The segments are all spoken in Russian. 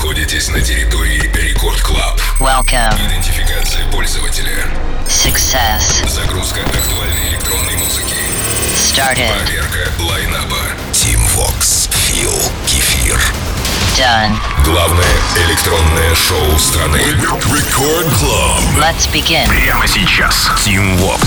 находитесь на территории Рекорд Клаб. Welcome. Идентификация пользователя. Success. Загрузка актуальной электронной музыки. Started. Проверка лайнаба. Team Vox. Фил. Кефир. Done. Главное электронное шоу страны. Рекорд Клаб. Let's begin. Прямо сейчас. Team Vox.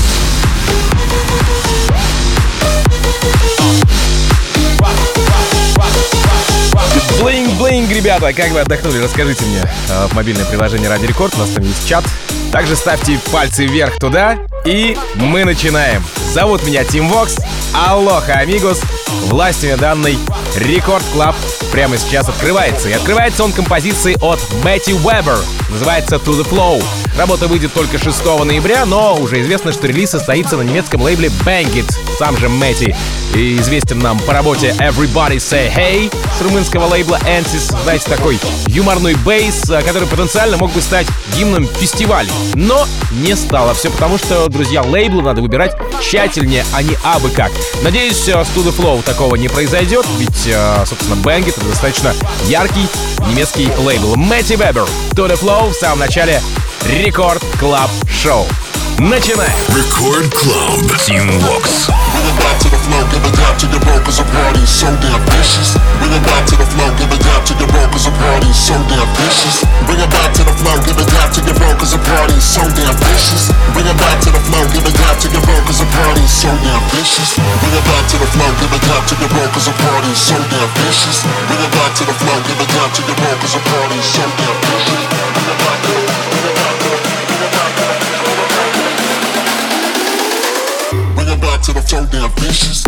Блинг-блинг, ребята, как вы отдохнули, расскажите мне в мобильное приложение Радио Рекорд, у нас там есть чат. Также ставьте пальцы вверх туда, и мы начинаем. Зовут меня Team Vox, алоха, амигос. Властью данный Рекорд Клаб прямо сейчас открывается. И открывается он композицией от Мэтти Уэббер. Называется To The Flow. Работа выйдет только 6 ноября, но уже известно, что релиз состоится на немецком лейбле Bang It. Сам же Мэтти и известен нам по работе Everybody Say Hey с румынского лейбла Ansys. Знаете, такой юморной бейс, который потенциально мог бы стать гимном фестиваля. Но не стало. Все потому, что, друзья, лейблы надо выбирать тщательнее, а не абы как. Надеюсь, с To The Flow такого не произойдет, ведь, собственно, Bang It — это достаточно яркий немецкий лейбл. Мэтти Уэббер, To The Flow в самом начале Рекорд Клаб Шоу. Начинаем! Рекорд Клаб. Team Vox. Bring it back to the flow, give it up to your brokers, a party so damn vicious. Bring it back to the flow, give it up to your brokers, a party so damn vicious. Bring it back to the flow, give it up to your brokers, a party so damn vicious. Bring it back to the flow, give it up to your brokers, a party so damn vicious. Bring it back to the flow, give it up to your brokers, a party so damn vicious. Bring it back to the flow, give it up to your brokers, a party so damn vicious. Bring it back to the to the flow, damn vicious.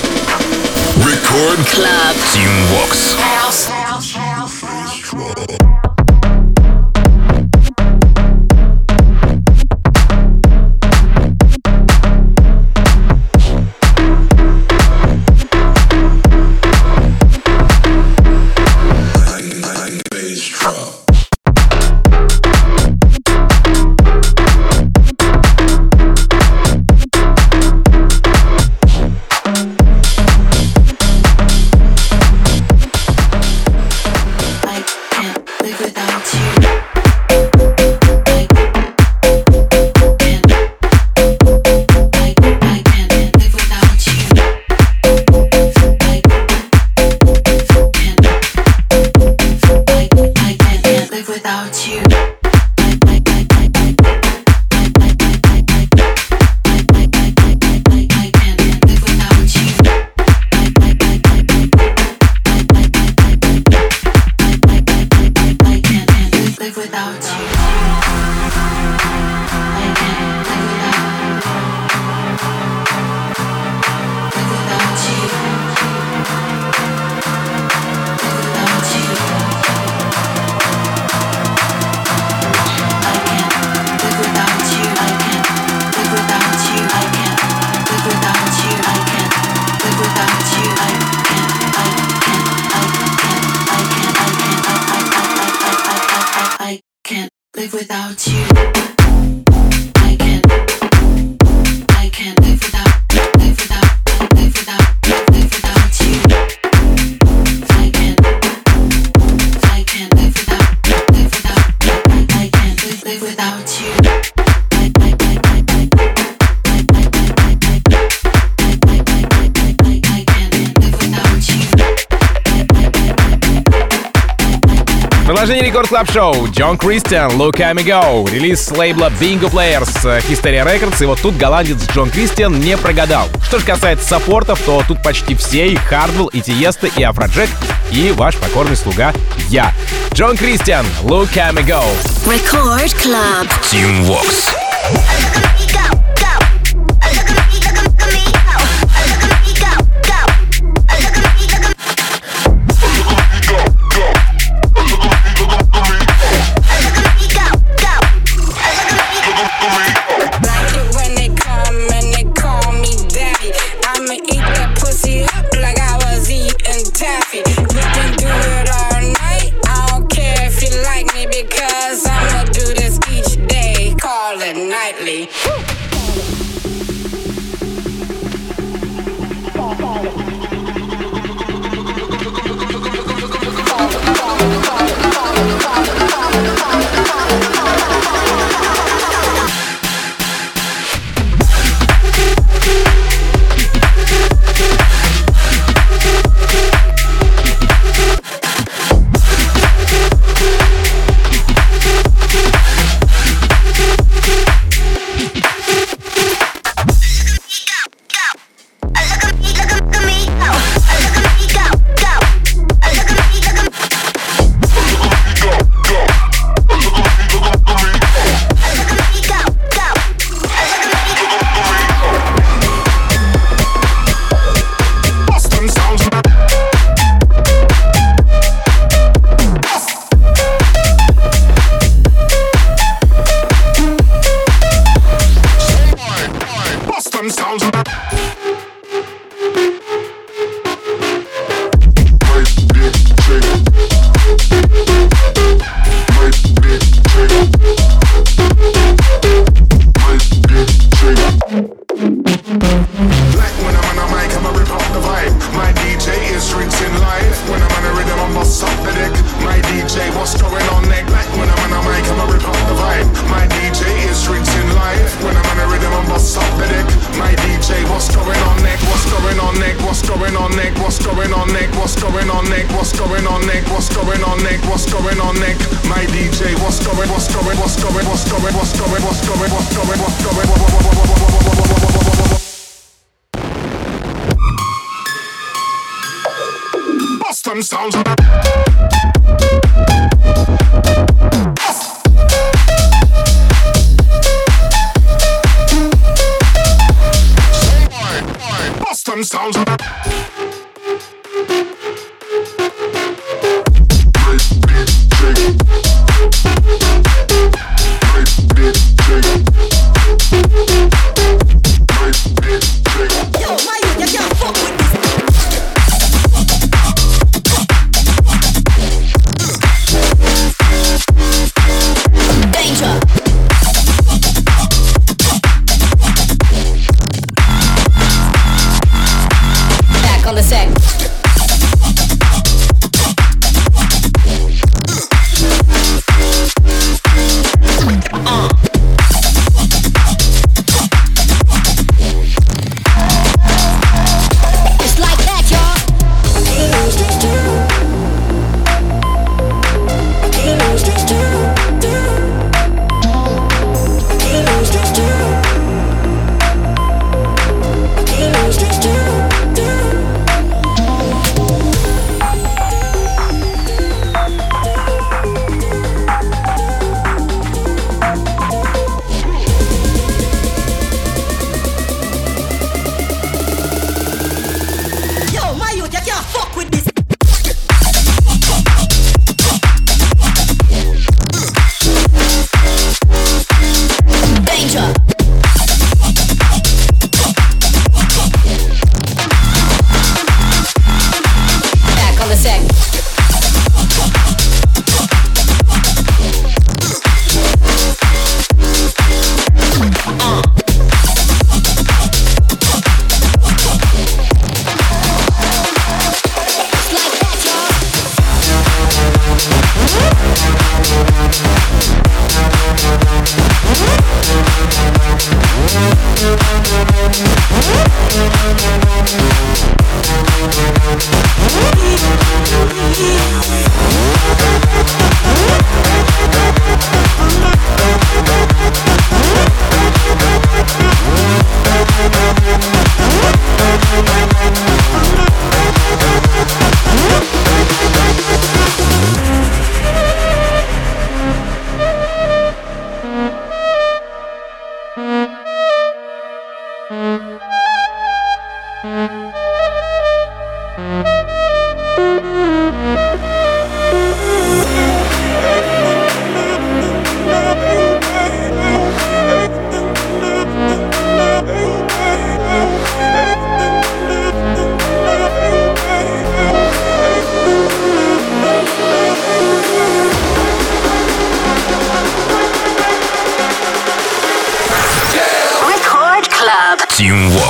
Рекорд Клаб. Team Vox. House. without you. Without you, I can't live without you. I can't live without you. Продолжение Рекорд Клаб Шоу. Джон Кристиан, Look at Me Go. Релиз с лейбла Bingo Players, Hysteria Records. И вот тут голландец Джон Кристиан не прогадал. Что же касается саппортов, то тут почти все. И Хардвелл, и Тиеста, и Афроджек, и ваш покорный слуга я. Джон Кристиан, Look at Me Go. Record Club. Team Vox.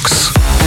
Vox.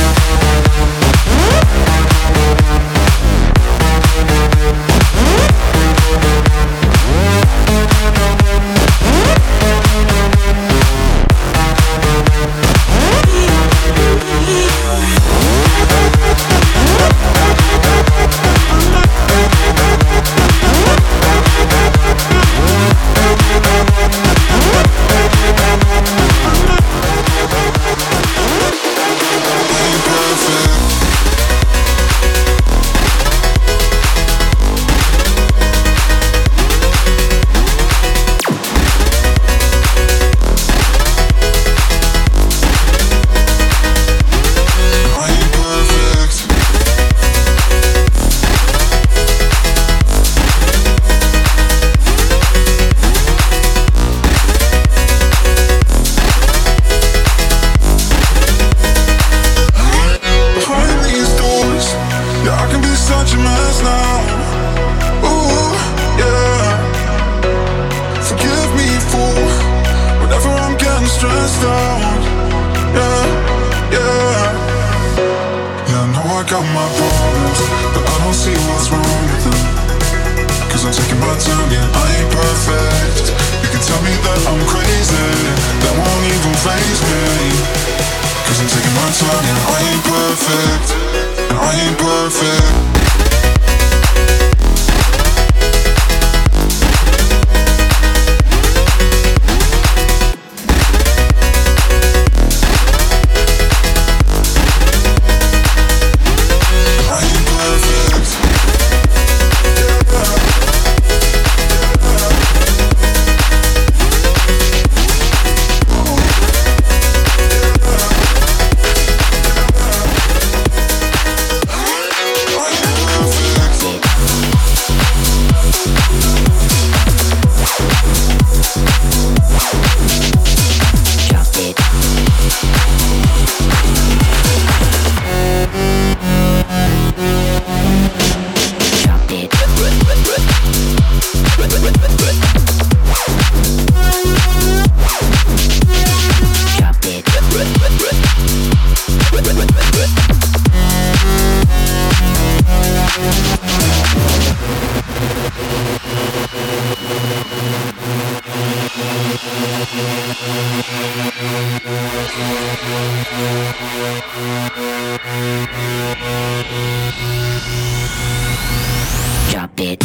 Drop it.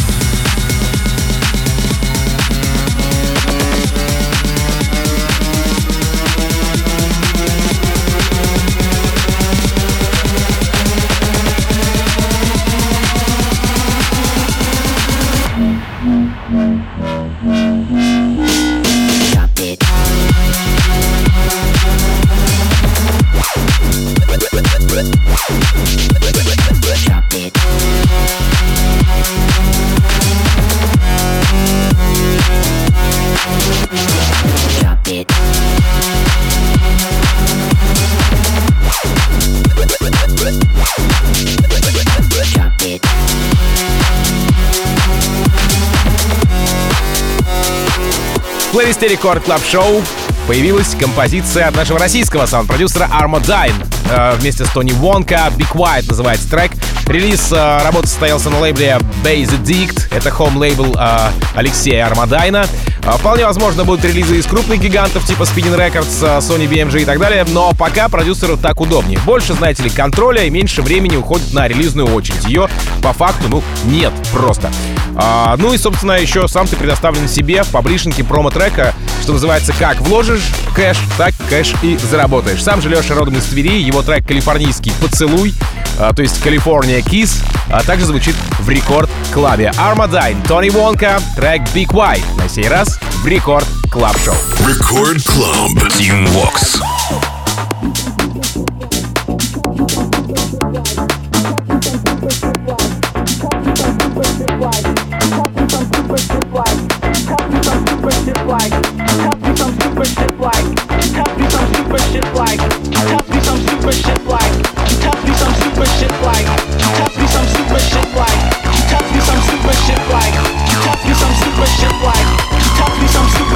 В плейлисте Рекорд Клаб Шоу появилась композиция от нашего российского саунд-продюсера Armadine. Вместе с Тони Вонка Be Quiet называется трек. Релиз работы состоялся на лейбле Base Addict. Это хоум-лейбл Алексея Армадайна. Вполне возможно, будут релизы из крупных гигантов типа Spinning Records, Sony BMG и так далее, но пока продюсеру так удобнее. Больше, знаете ли, контроля и меньше времени уходит на релизную очередь. Ее по факту, нет просто. Ну и, собственно, еще сам ты предоставлен себе в паблишинге промо-трека, что называется, как вложишь кэш, так кэш и заработаешь. Сам же Леша родом из Твери, его трек «Калифорнийский поцелуй», то есть «California Kiss», также звучит в Рекорд-клабе. Armadine, Тони Вонка, трек Be Quiet. На сей раз в Рекорд Клаб Шоу. Record Club. Team Vox.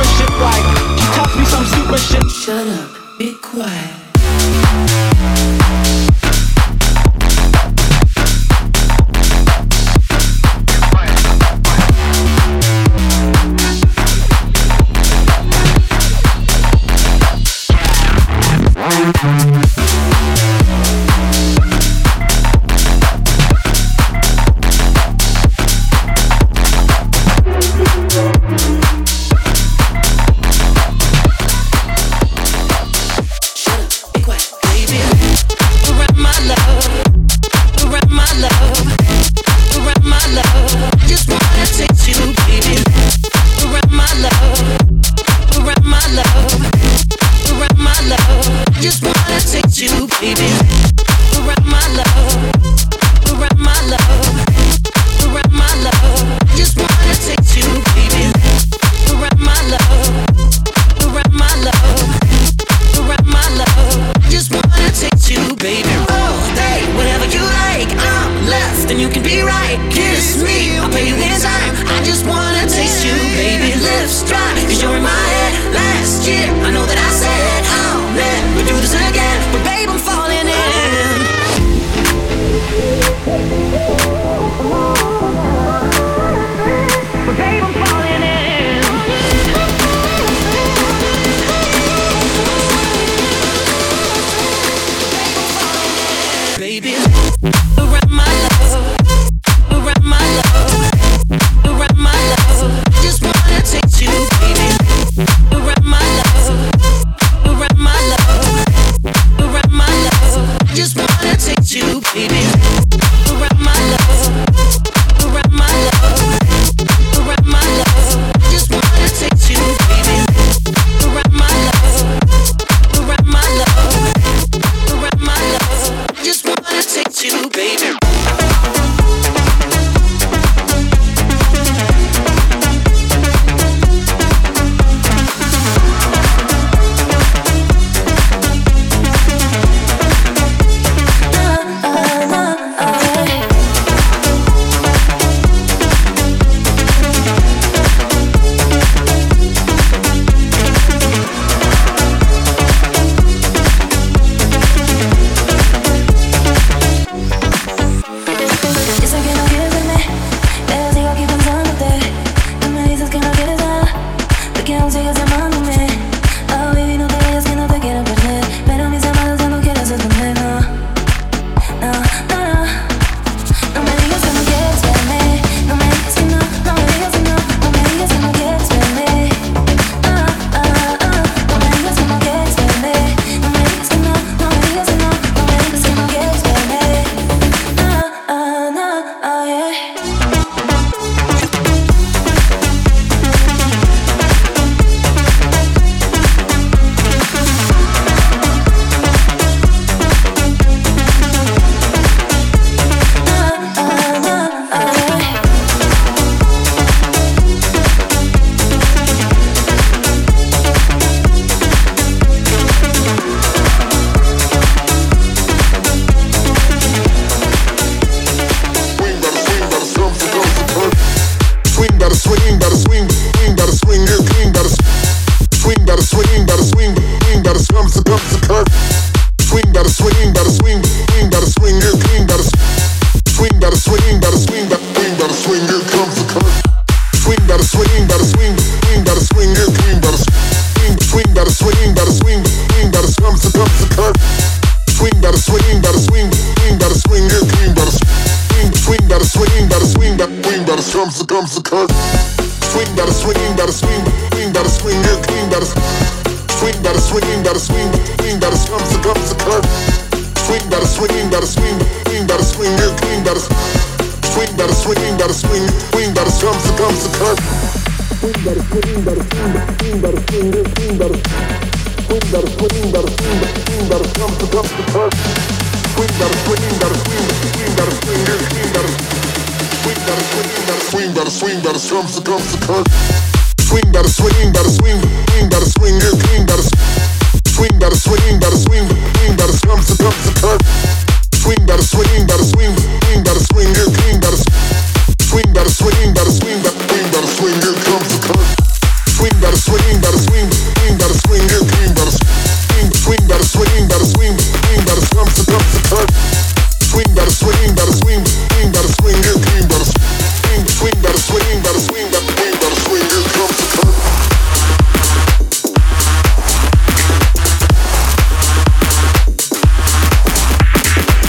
Shut up, be quiet.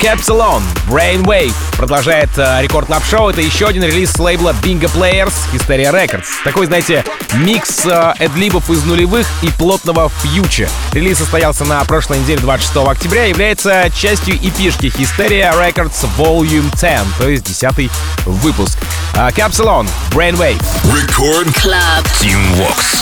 Capsalon, Brainwave. Продолжает Рекорд Клаб Шоу. Это еще один релиз с лейбла Bingo Players, Hysteria Records. Такой, знаете, микс эдлибов из нулевых и плотного фьюча. Релиз состоялся на прошлой неделе, 26 октября, и является частью EP-шки Hysteria Records Volume 10, то есть 10-й выпуск. Capsalon, Brainwave. Record Club. Team Vox.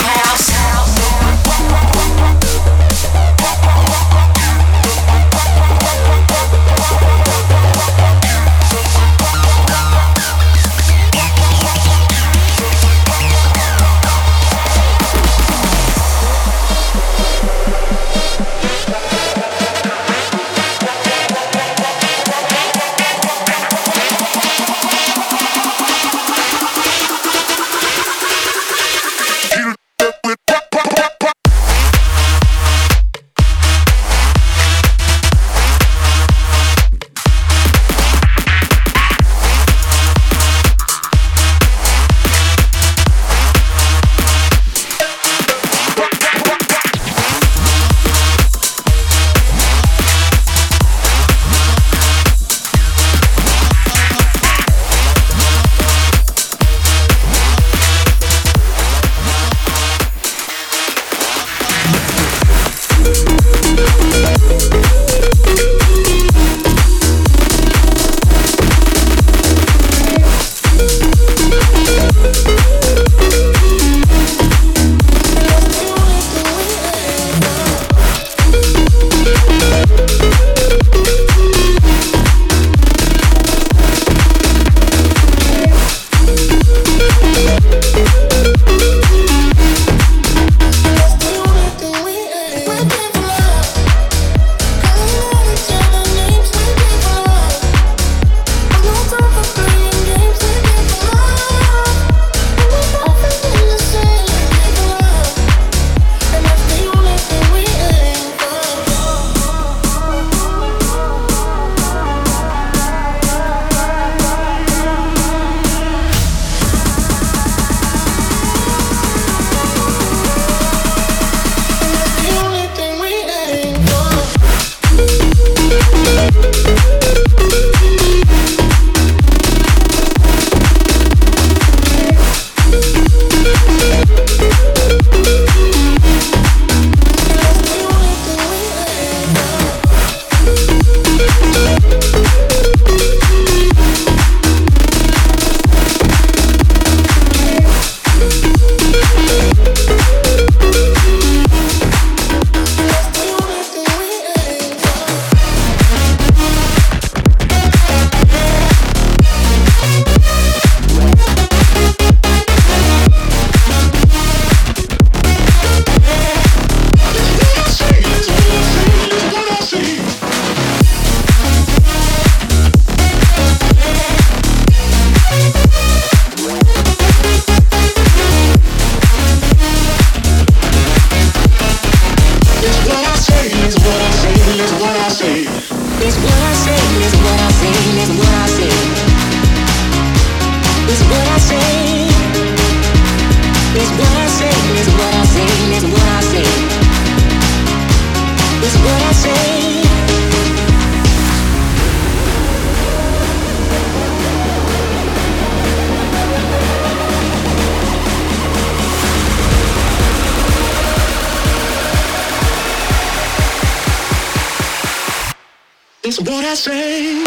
It's what I say.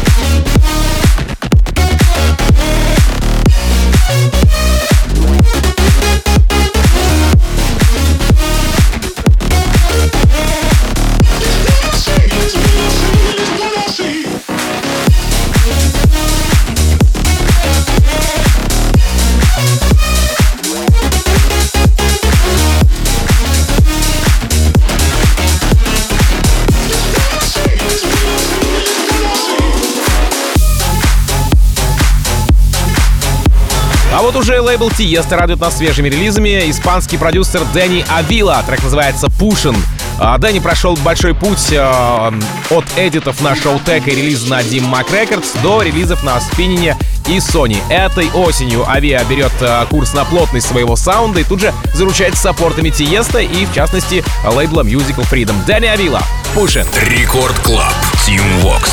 А вот уже лейбл Tiesto радует нас свежими релизами. Испанский продюсер Дэнни Авила. Трек называется «Pushin'». Дэнни прошел большой путь от эдитов на Showtek и релиза на Dim Mak Records до релизов на Spinning и Sony. Этой осенью Avia берет курс на плотность своего саунда и тут же заручается саппортами Тиеста и, в частности, лейбла Musical Freedom. Дэнни Авила, Pushin'. Рекорд Клаб, Team Vox.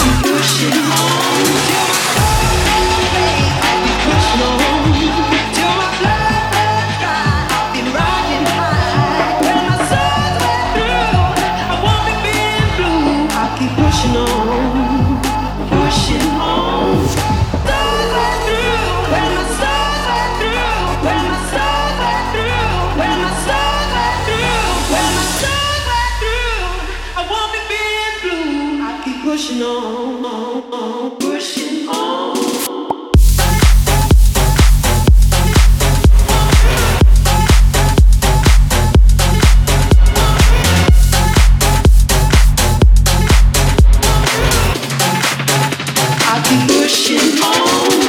Pushing on, pushing on. I keep pushing on.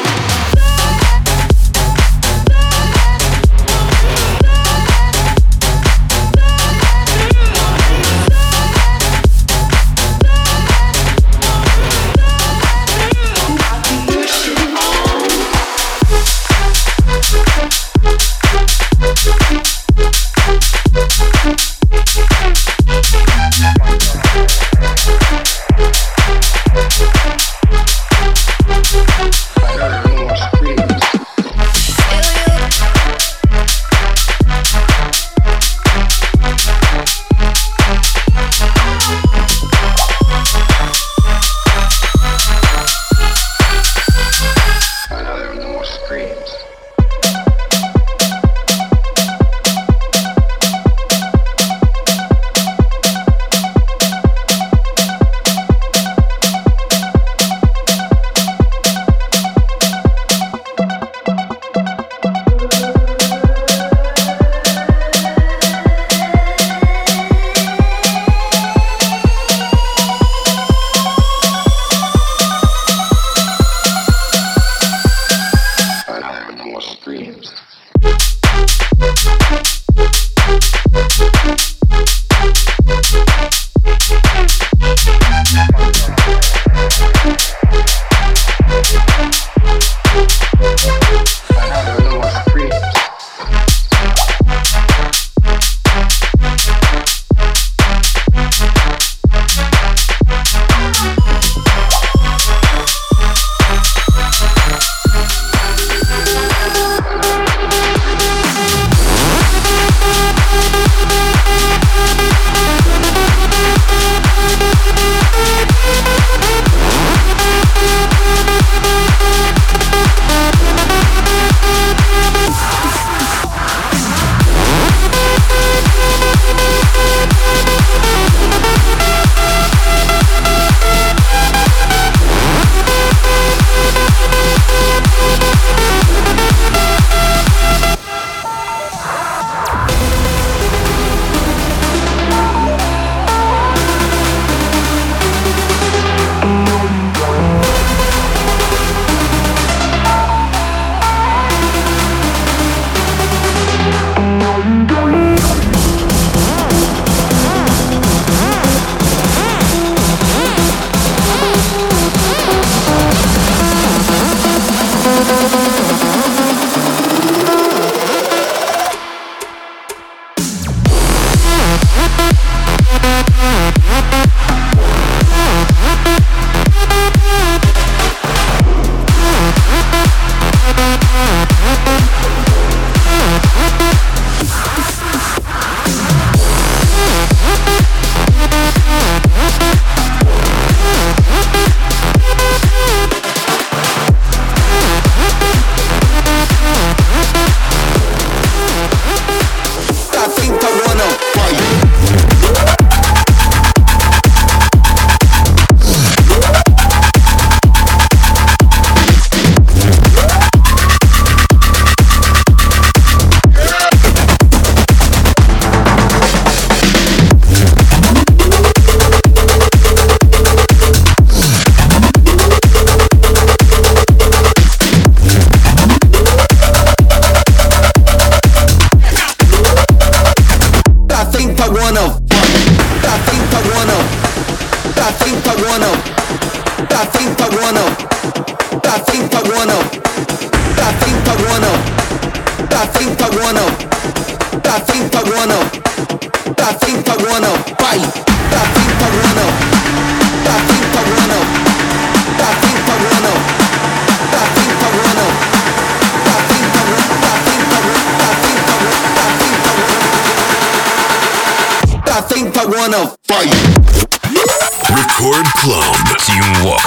Record Club. Team Vox.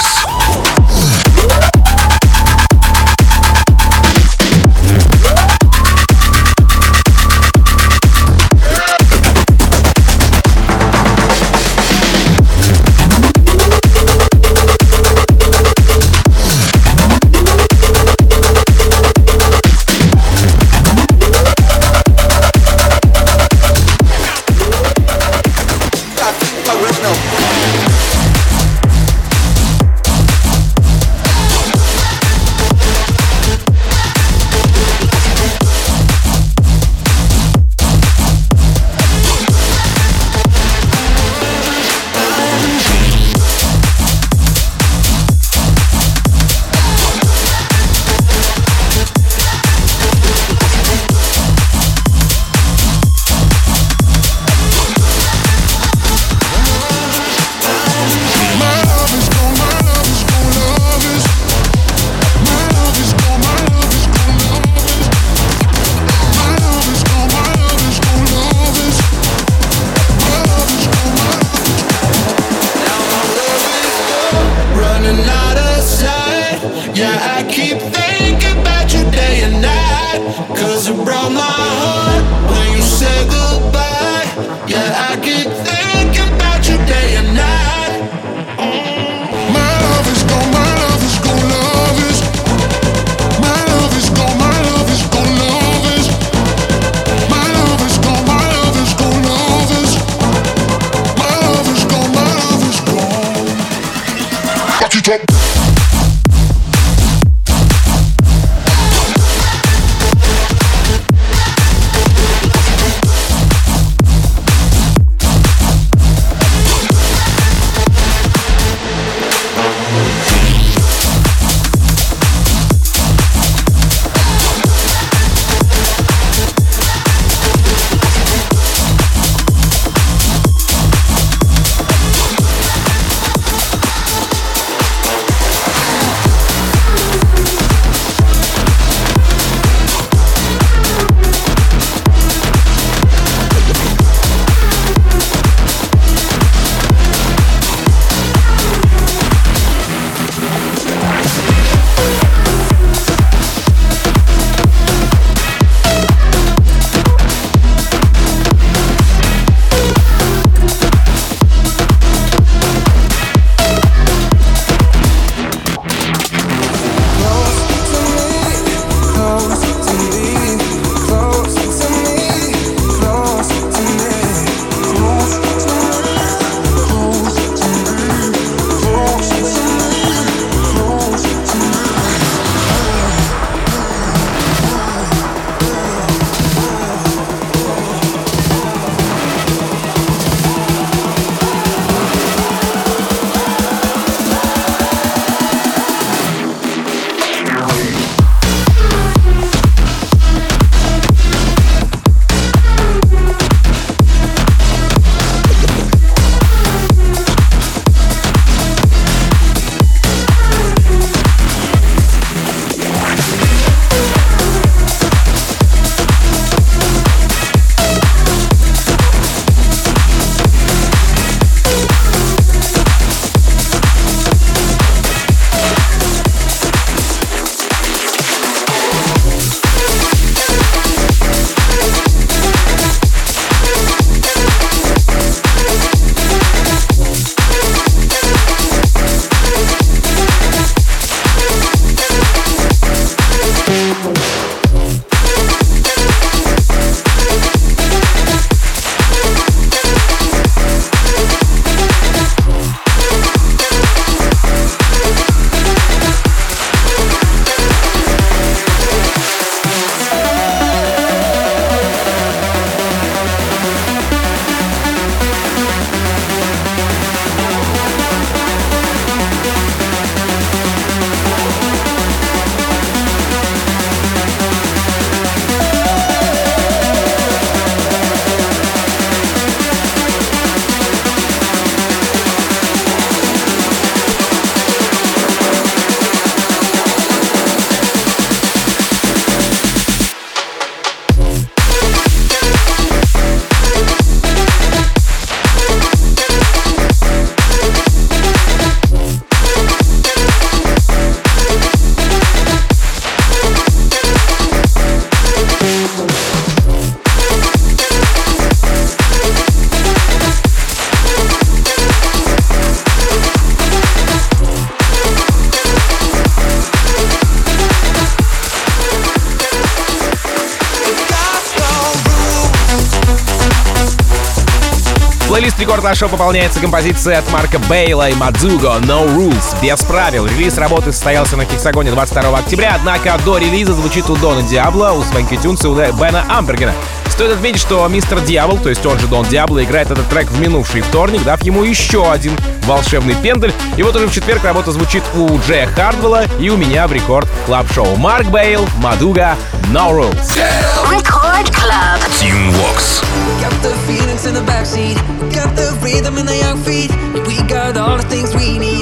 Плейлист Рекорд Клаб Шоу пополняется композицией от Марка Бейла и Мадзуго «No Rules» без правил. Релиз работы состоялся на Хексагоне 22 октября, однако до релиза звучит у Дона Диабло, у Свенки Тюнс и у Бена Амбергена. Стоит отметить, что мистер Дьявол, то есть он же Дон Диабло, играет этот трек в минувший вторник, дав ему еще один волшебный пендель. И вот уже в четверг работа звучит у Джея Хардвелла и у меня в Рекорд Клаб Шоу. Марк Бейл, Мадуга, No Rules. Record Club. Team Vox. Got the feelings in the backseat, got the rhythm in the young feet. We got all the things we need.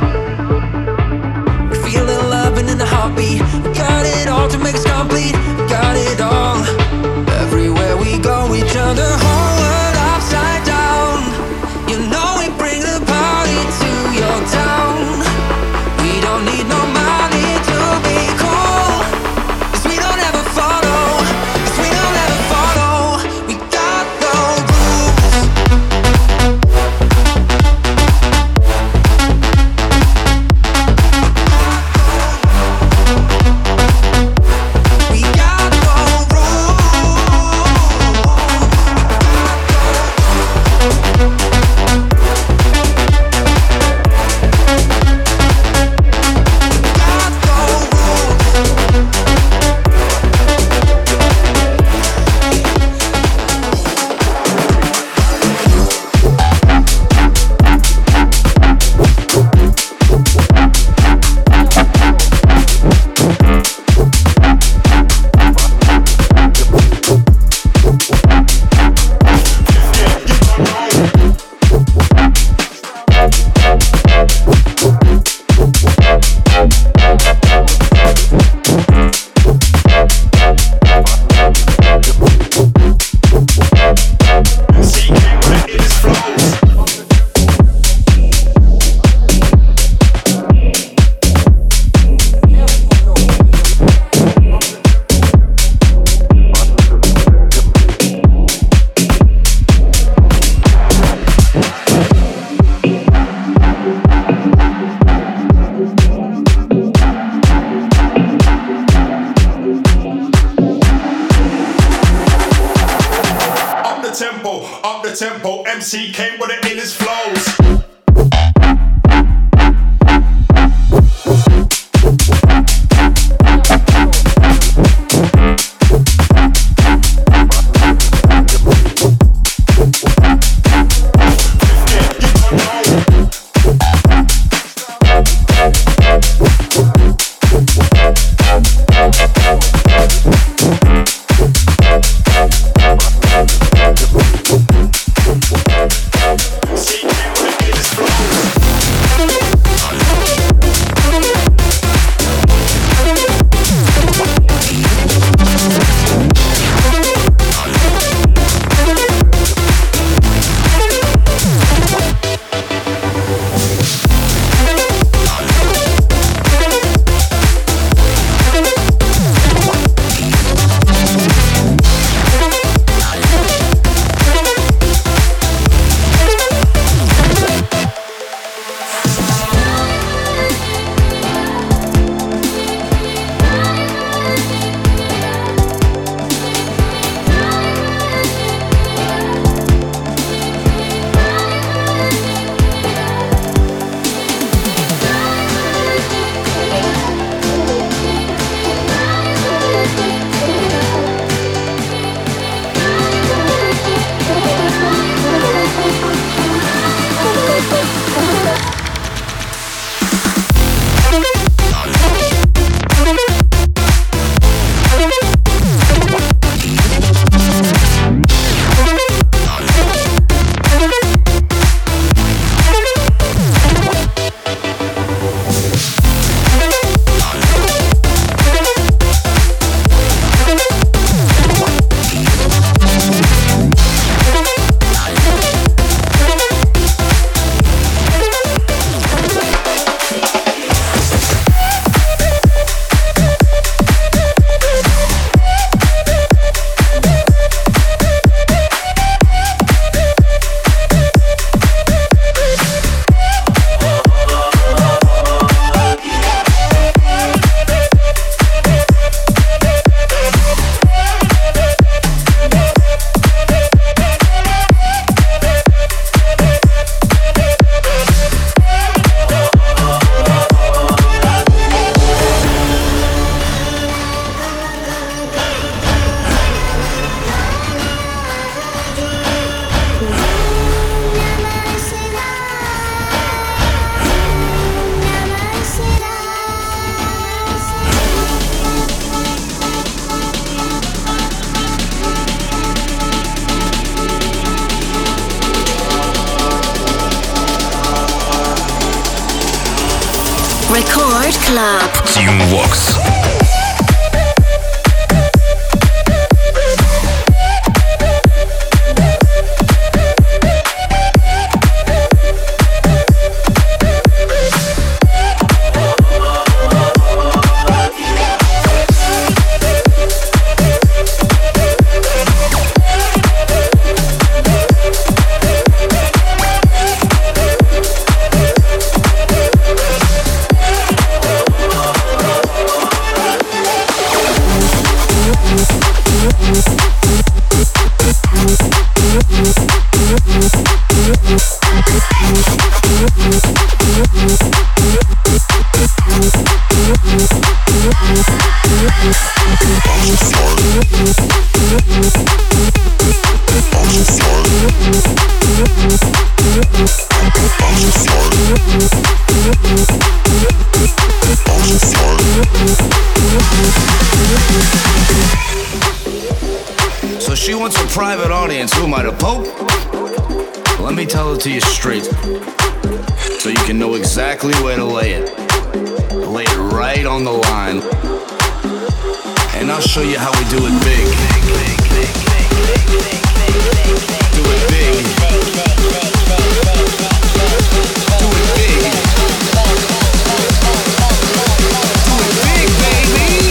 We feel the love and in the heartbeat. We got it all to make us complete. We got it all. Everywhere we go, we turn the whole world upside down. You know we bring the party to your town. We don't need no money to be cool. 'Cause we don't ever follow. 'Cause we don't ever follow. We got no rules. We got no rules. Up the tempo, MC came with it in his flows. See, Record Club. Team Vox. So she wants a private audience. Who am I, the Pope? Let me tell it to you straight, so you can know exactly where to lay it. Lay it right on the line, and I'll show you how we do it big. Do it big. Do it big. Do it big, baby.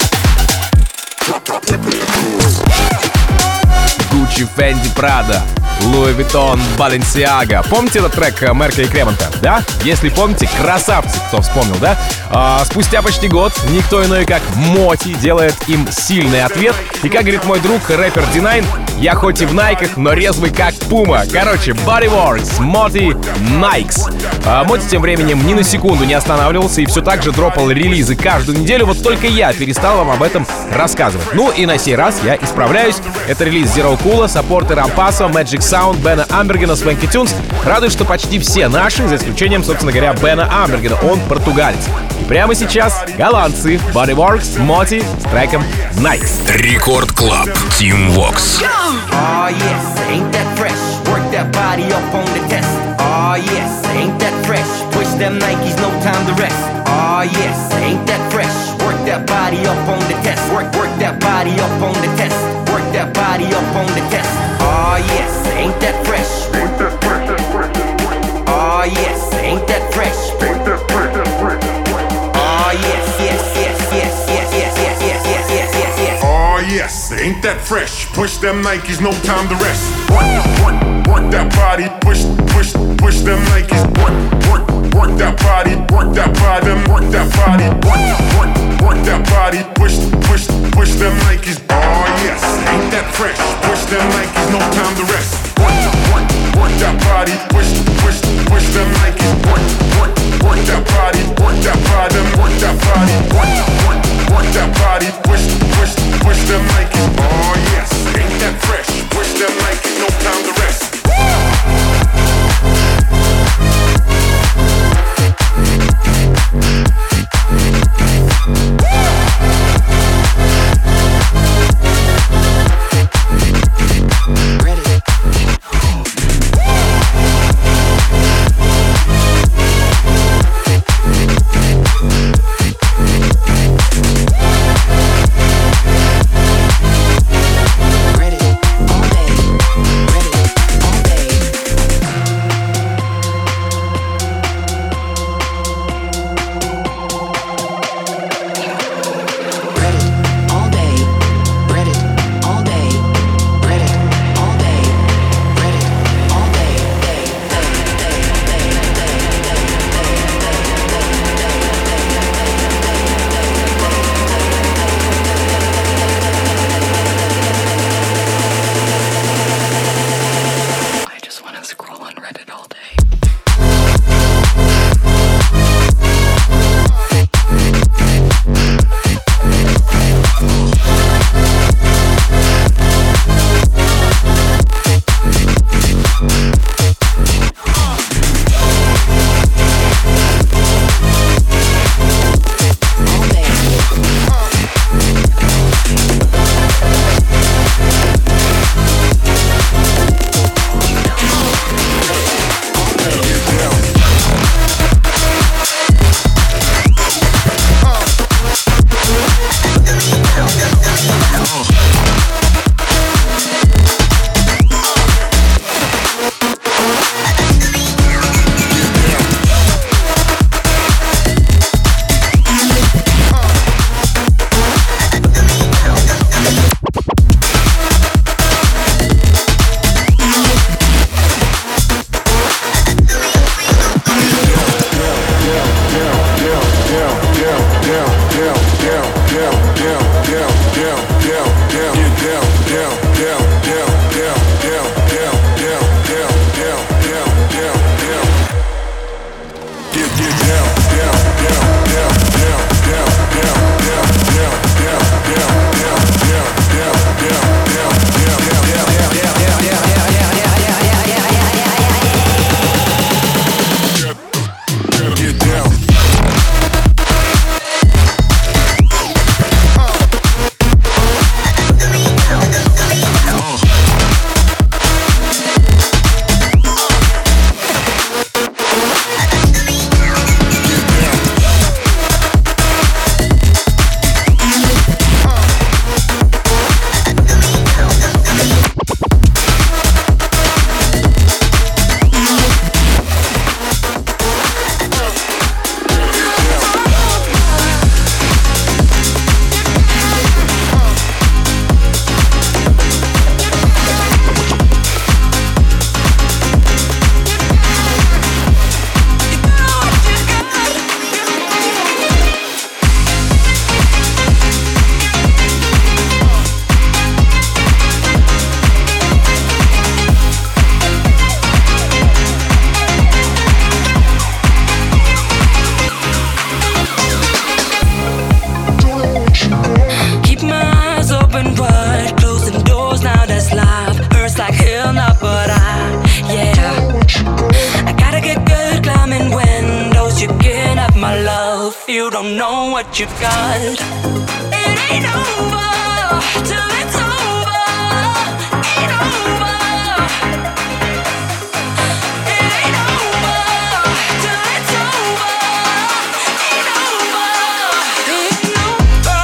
Fendi Prada. Louis Vuitton, Balenciaga. Помните этот трек Мерка и Кремонта, да? Если помните, красавцы, кто вспомнил, да? Спустя почти год никто иной, как Моти, делает им сильный ответ. И как говорит мой друг, рэпер D9, я хоть и в найках, но резвый как пума. Короче, Bodyworks, Моти, Nikes. Моти тем временем ни на секунду не останавливался и все так же дропал релизы каждую неделю. Вот только я перестал вам об этом рассказывать. Ну и на сей раз я исправляюсь. Это релиз Zero Cool, саппорты Рампаса, Magic Sound, Бена Амбергена, Swanky Tunes. Радует, что почти все наши, за исключением, собственно говоря, Бена Амбергена. Он португалец. И прямо сейчас голландцы Bodyworks, Моти с треком Nikes. Рекорд Клаб, Team Vox. Oh yes, ain't that fresh? Work that body up on the test. Oh yes, ain't that fresh? Push them Nikes, no time to rest. Oh yes, ain't that fresh? Work that body up on the test. Work that body up on the test. Work that body up on the test. Oh yes, ain't that fresh? Ain't that fresh? Oh yes, ain't that fresh? Ain't that fresh? Oh yes, yes, yes, yes, yes, yes, yes, yes, yes, yes, yes, yes. Oh yes, ain't that fresh? Push them Nikes, no time to rest. Work that body, push them Nikes. Work that body, work that body, work that body, work that body, push them Nikes. Oh yes, ain't that fresh? Push them Nikes, no time to rest. Work that body, push them Nikes. Work that body, work that body, work that body, work that body, push them Nikes. Oh yes, ain't that fresh? Push them Nikes, no time to rest. know what you've got. It ain't over till it's over. Ain't over. It ain't over till it's over. Ain't over. Ain't over.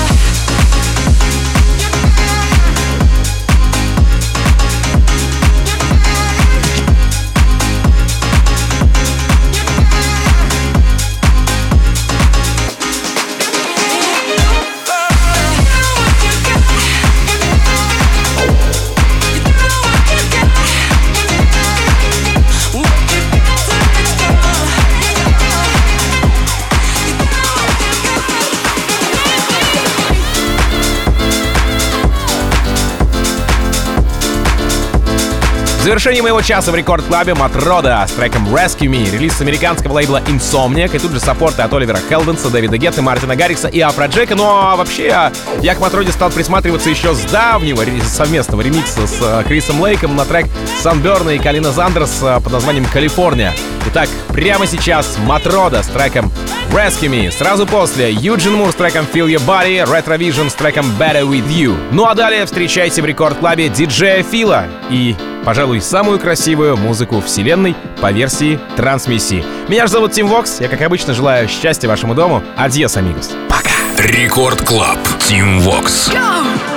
В завершении моего часа в рекорд-клабе Матрода с треком Rescue Me, релиз с американского лейбла Insomniac, и тут же саппорты от Оливера Хелденса, Дэвида Гетты, Мартина Гаррикса и Афроджека. Ну а вообще я к Матроде стал присматриваться еще с давнего совместного ремикса с Крисом Лейком на трек Санберна и Калина Зандерс под названием «Калифорния». Итак, прямо сейчас Матрода с треком Rescue Me. Сразу после Юджин Мур с треком Feel Your Body, Retrovision с треком Better With You. Ну а далее встречайте в рекорд-клабе диджея Фила и, пожалуй, самую красивую музыку вселенной по версии трансмиссии. Меня же зовут Тим Вокс. Я, как обычно, желаю счастья вашему дому. Адьос, амигос. Пока. Рекорд Клаб. Тим Вокс. Go!